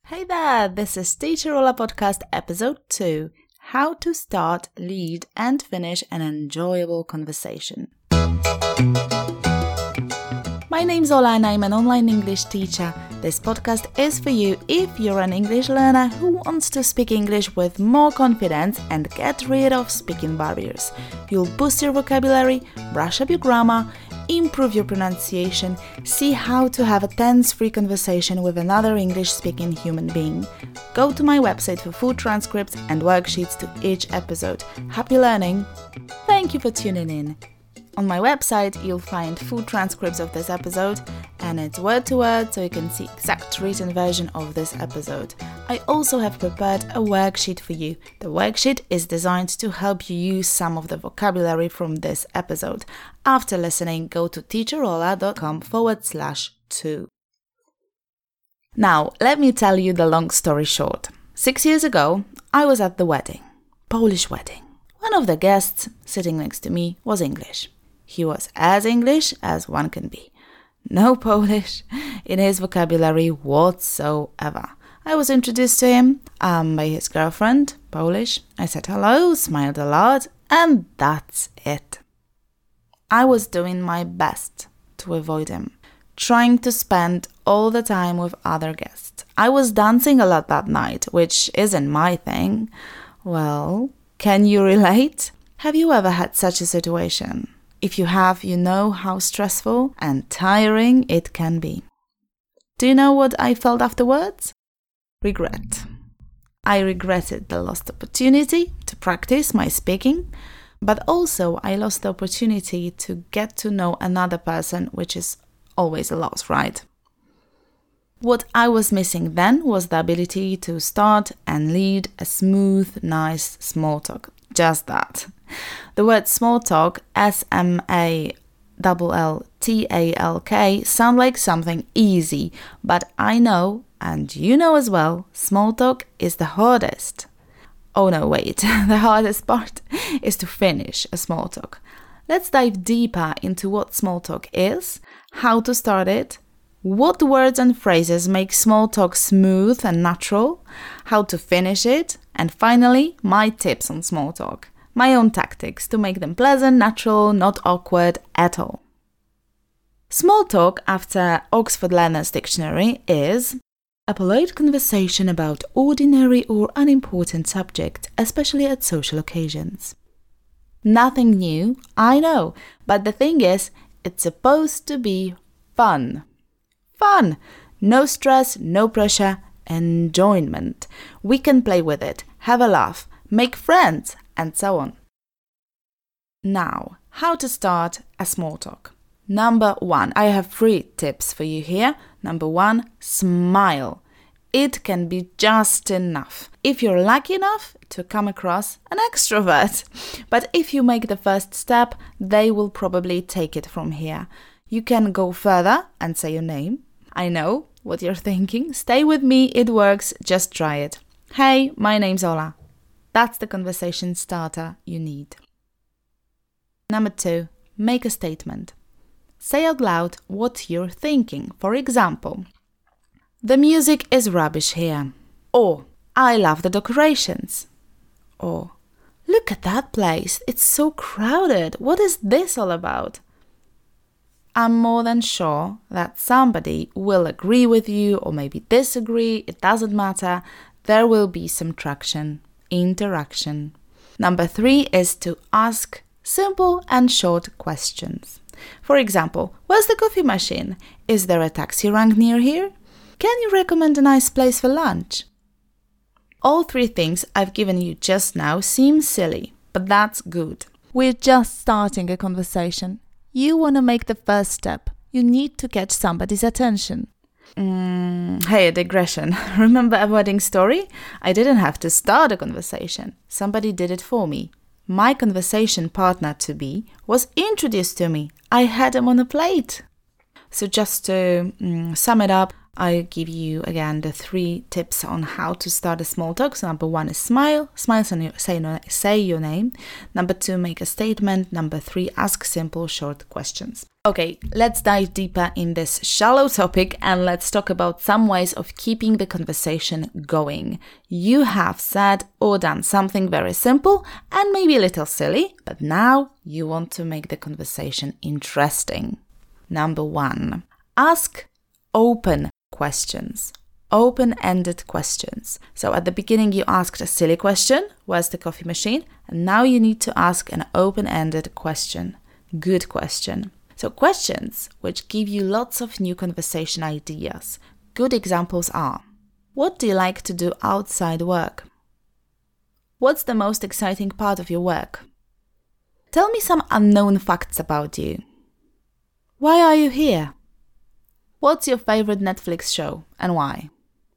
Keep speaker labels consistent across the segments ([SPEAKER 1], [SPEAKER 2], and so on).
[SPEAKER 1] Hey there, this is Teacher Ola Podcast Episode 2, How to Start, Lead and Finish an Enjoyable Conversation. My name's Ola and I'm an online English teacher. This podcast is for you if you're an English learner who wants to speak English with more confidence and get rid of speaking barriers. You'll boost your vocabulary, brush up your grammar, improve your pronunciation, see how to have a tense-free conversation with another English-speaking human being. Go to my website for full transcripts and worksheets to each episode. Happy learning! Thank you for tuning in. On my website, you'll find full transcripts of this episode, and it's word to word, so you can see exact written version of this episode. I also have prepared a worksheet for you. The worksheet is designed to help you use some of the vocabulary from this episode. After listening, go to teacherola.com/2. Now, let me tell you the long story short. 6 years ago, I was at the wedding, Polish wedding. One of the guests sitting next to me was English. He was as English as one can be. No Polish in his vocabulary whatsoever. I was introduced to him by his girlfriend, Polish. I said hello, smiled a lot, and that's it. I was doing my best to avoid him, trying to spend all the time with other guests. I was dancing a lot that night, which isn't my thing. Well, can you relate? Have you ever had such a situation? If you have, you know how stressful and tiring it can be. Do you know what I felt afterwards? Regret. I regretted the lost opportunity to practice my speaking, but also I lost the opportunity to get to know another person, which is always a loss, right? What I was missing then was the ability to start and lead a smooth, nice small talk. Just that. The word small talk, SMALLTALK, sound like something easy, but I know, and you know as well, small talk is the hardest. Oh no, wait, the hardest part is to finish a small talk. Let's dive deeper into what small talk is, how to start it, what words and phrases make small talk smooth and natural, how to finish it, and finally, my tips on small talk. My own tactics to make them pleasant, natural, not awkward at all. Small talk, after Oxford Learner's Dictionary, is a polite conversation about ordinary or unimportant subject, especially at social occasions. Nothing new, I know, but the thing is, it's supposed to be fun. Fun! No stress, no pressure, enjoyment. We can play with it, have a laugh, make friends, and so on. Now, how to start a small talk. Number 1, I have 3 tips for you here. Number 1, smile. It can be just enough if you're lucky enough to come across an extrovert. But if you make the first step, they will probably take it from here. You can go further and say your name. I know what you're thinking. Stay with me, it works, just try it. Hey, my name's Ola. That's the conversation starter you need. Number 2, make a statement. Say out loud what you're thinking. For example, the music is rubbish here. Or, I love the decorations. Or, look at that place. It's so crowded. What is this all about? I'm more than sure that somebody will agree with you or maybe disagree. It doesn't matter. There will be some traction. Interaction. Number 3 is to ask simple and short questions. For example, where's the coffee machine? Is there a taxi rank near here? Can you recommend a nice place for lunch? All 3 things I've given you just now seem silly, but that's good. We're just starting a conversation. You want to make the first step. You need to catch somebody's attention. Hey, a digression. Remember a wedding story? I didn't have to start a conversation. Somebody did it for me. My conversation partner-to-be was introduced to me. I had him on a plate. So just to sum it up, I give you again the 3 tips on how to start a small talk. So number 1 is smile. Smile, say your name. Number 2, make a statement. Number 3, ask simple, short questions. Okay, let's dive deeper in this shallow topic and let's talk about some ways of keeping the conversation going. You have said or done something very simple and maybe a little silly, but now you want to make the conversation interesting. Number 1, ask open questions. Open-ended questions. So at the beginning you asked a silly question, where's the coffee machine? And now you need to ask an open-ended question. Good question. So questions which give you lots of new conversation ideas. Good examples are: what do you like to do outside work? What's the most exciting part of your work? Tell me some unknown facts about you. Why are you here? What's your favorite Netflix show and why?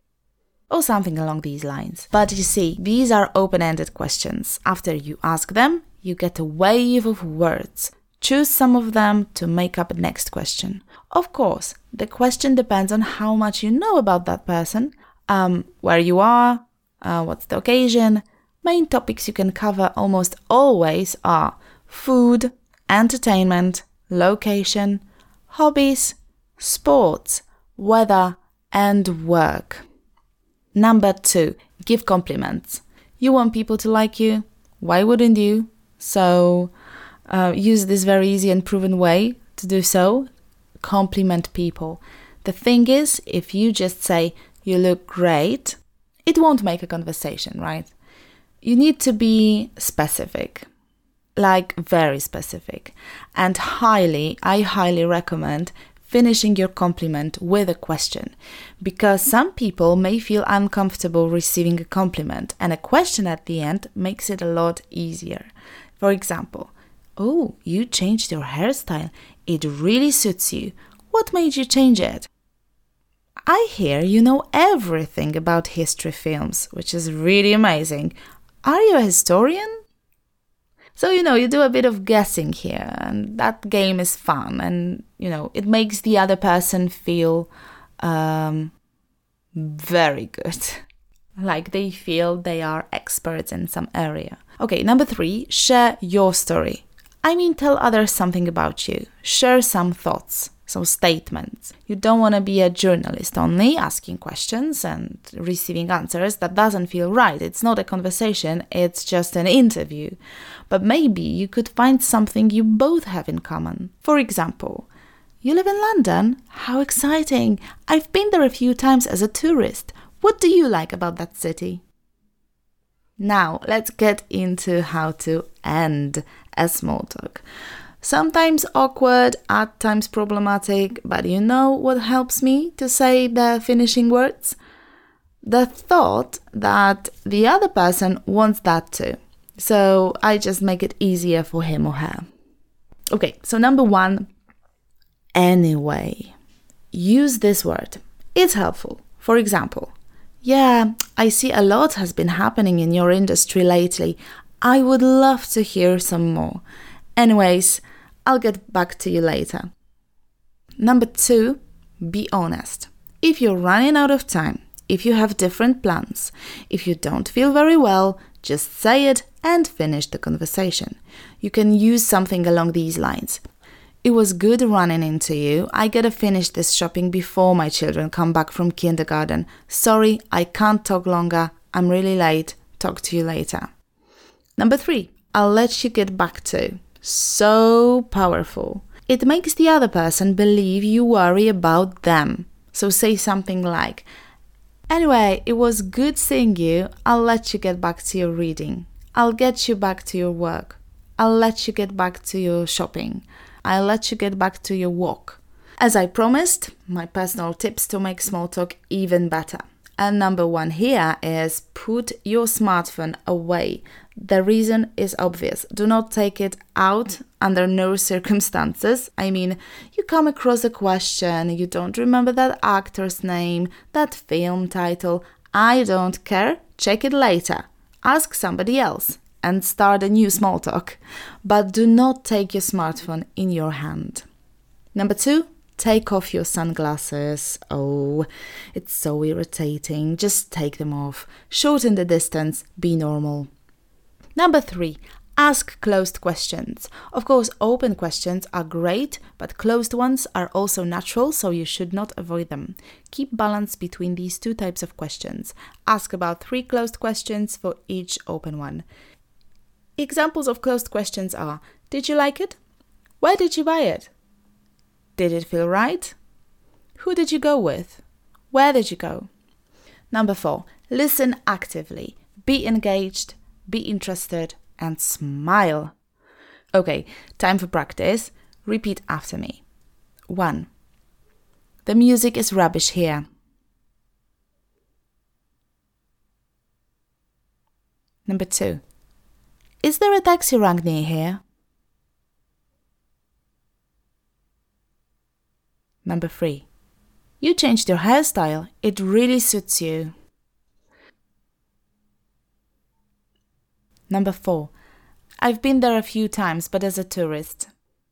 [SPEAKER 1] Or something along these lines. But you see, these are open-ended questions. After you ask them, you get a wave of words. Choose some of them to make up the next question. Of course, the question depends on how much you know about that person, where you are, what's the occasion. Main topics you can cover almost always are food, entertainment, location, hobbies, sports, weather, and work. Number 2, give compliments. You want people to like you. Why wouldn't you? So use this very easy and proven way to do so. Compliment people. The thing is, if you just say, you look great, it won't make a conversation, right? You need to be specific, like very specific. And I highly recommend finishing your compliment with a question, because some people may feel uncomfortable receiving a compliment, and a question at the end makes it a lot easier. For example, oh, you changed your hairstyle. It really suits you. What made you change it? I hear you know everything about history films, which is really amazing. Are you a historian? So, you do a bit of guessing here, and that game is fun, and, it makes the other person feel very good. Like they feel they are experts in some area. Okay, number 3, share your story. Tell others something about you. Share some thoughts, some statements. You don't want to be a journalist only asking questions and receiving answers. That doesn't feel right. It's not a conversation, it's just an interview. But maybe you could find something you both have in common. For example, you live in London? How exciting! I've been there a few times as a tourist. What do you like about that city? Now, let's get into how to end a small talk. Sometimes awkward, at times problematic, but you know what helps me to say the finishing words? The thought that the other person wants that too. So I just make it easier for him or her. Okay, so number 1, anyway. Use this word. It's helpful. For example, yeah, I see a lot has been happening in your industry lately. I would love to hear some more. Anyways, I'll get back to you later. Number 2, be honest. If you're running out of time, if you have different plans, if you don't feel very well, just say it and finish the conversation. You can use something along these lines. It was good running into you. I gotta finish this shopping before my children come back from kindergarten. Sorry, I can't talk longer. I'm really late. Talk to you later. Number 3, I'll let you get back to. So powerful. It makes the other person believe you worry about them. So say something like, anyway, it was good seeing you. I'll let you get back to your reading. I'll get you back to your work. I'll let you get back to your shopping. I'll let you get back to your walk. As I promised, my personal tips to make small talk even better. And number 1 here is put your smartphone away. The reason is obvious. Do not take it out under no circumstances. You come across a question, you don't remember that actor's name, that film title. I don't care. Check it later. Ask somebody else and start a new small talk. But do not take your smartphone in your hand. Number 2, Take off your sunglasses. Oh, it's so irritating. Just take them off. Shorten the distance. Be normal. Number 3. Ask closed questions. Of course, open questions are great, but closed ones are also natural, so you should not avoid them. Keep balance between these two types of questions. Ask about 3 closed questions for each open one. Examples of closed questions are: did you like it? Where did you buy it? Did it feel right? Who did you go with? Where did you go? Number 4. Listen actively. Be engaged, be interested, and smile. Okay, time for practice. Repeat after me. 1. The music is rubbish here. Number 2. Is there a taxi rank near here? Number 3. You changed your hairstyle. It really suits you. Number 4. I've been there a few times, but as a tourist.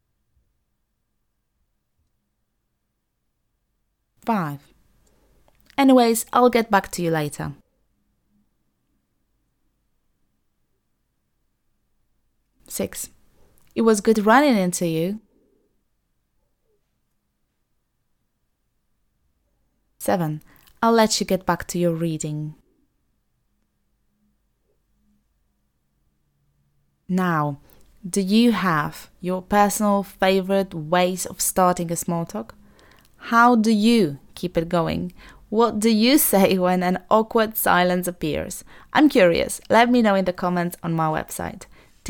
[SPEAKER 1] 5. Anyways, I'll get back to you later. 6. It was good running into you. 7. I'll let you get back to your reading. Now, do you have your personal favorite ways of starting a small talk? How do you keep it going? What do you say when an awkward silence appears? I'm curious. Let me know in the comments on my website,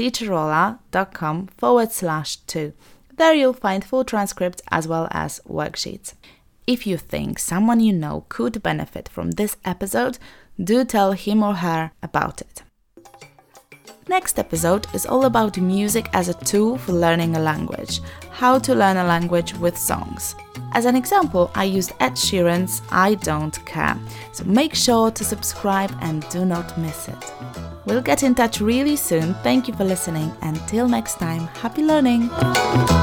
[SPEAKER 1] teacherola.com/2. There you'll find full transcripts as well as worksheets. If you think someone you know could benefit from this episode, do tell him or her about it. Next episode is all about music as a tool for learning a language. How to learn a language with songs. As an example, I used Ed Sheeran's I Don't Care. So make sure to subscribe and do not miss it. We'll get in touch really soon. Thank you for listening. Until next time, happy learning!